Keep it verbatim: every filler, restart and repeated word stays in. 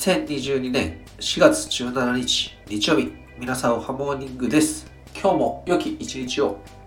せんにじゅうにねんしがつじゅうしちにち日曜日、皆さんおはモーニングです。今日も良き一日を。